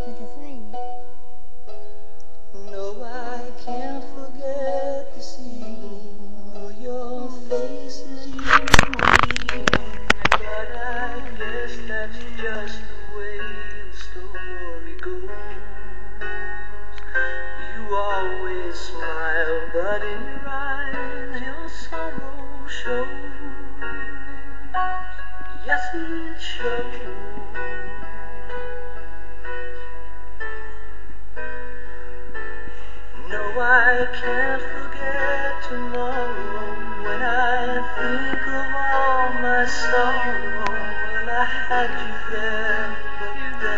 No, I can't forget this evening. Oh, your face is you and me. But I guess that's just the way the story goes. You always smile, but in your eyes your sorrow shows. Yes, it shows. No, I can't forget tomorrow. When I think of all my sorrow, well, I had you there.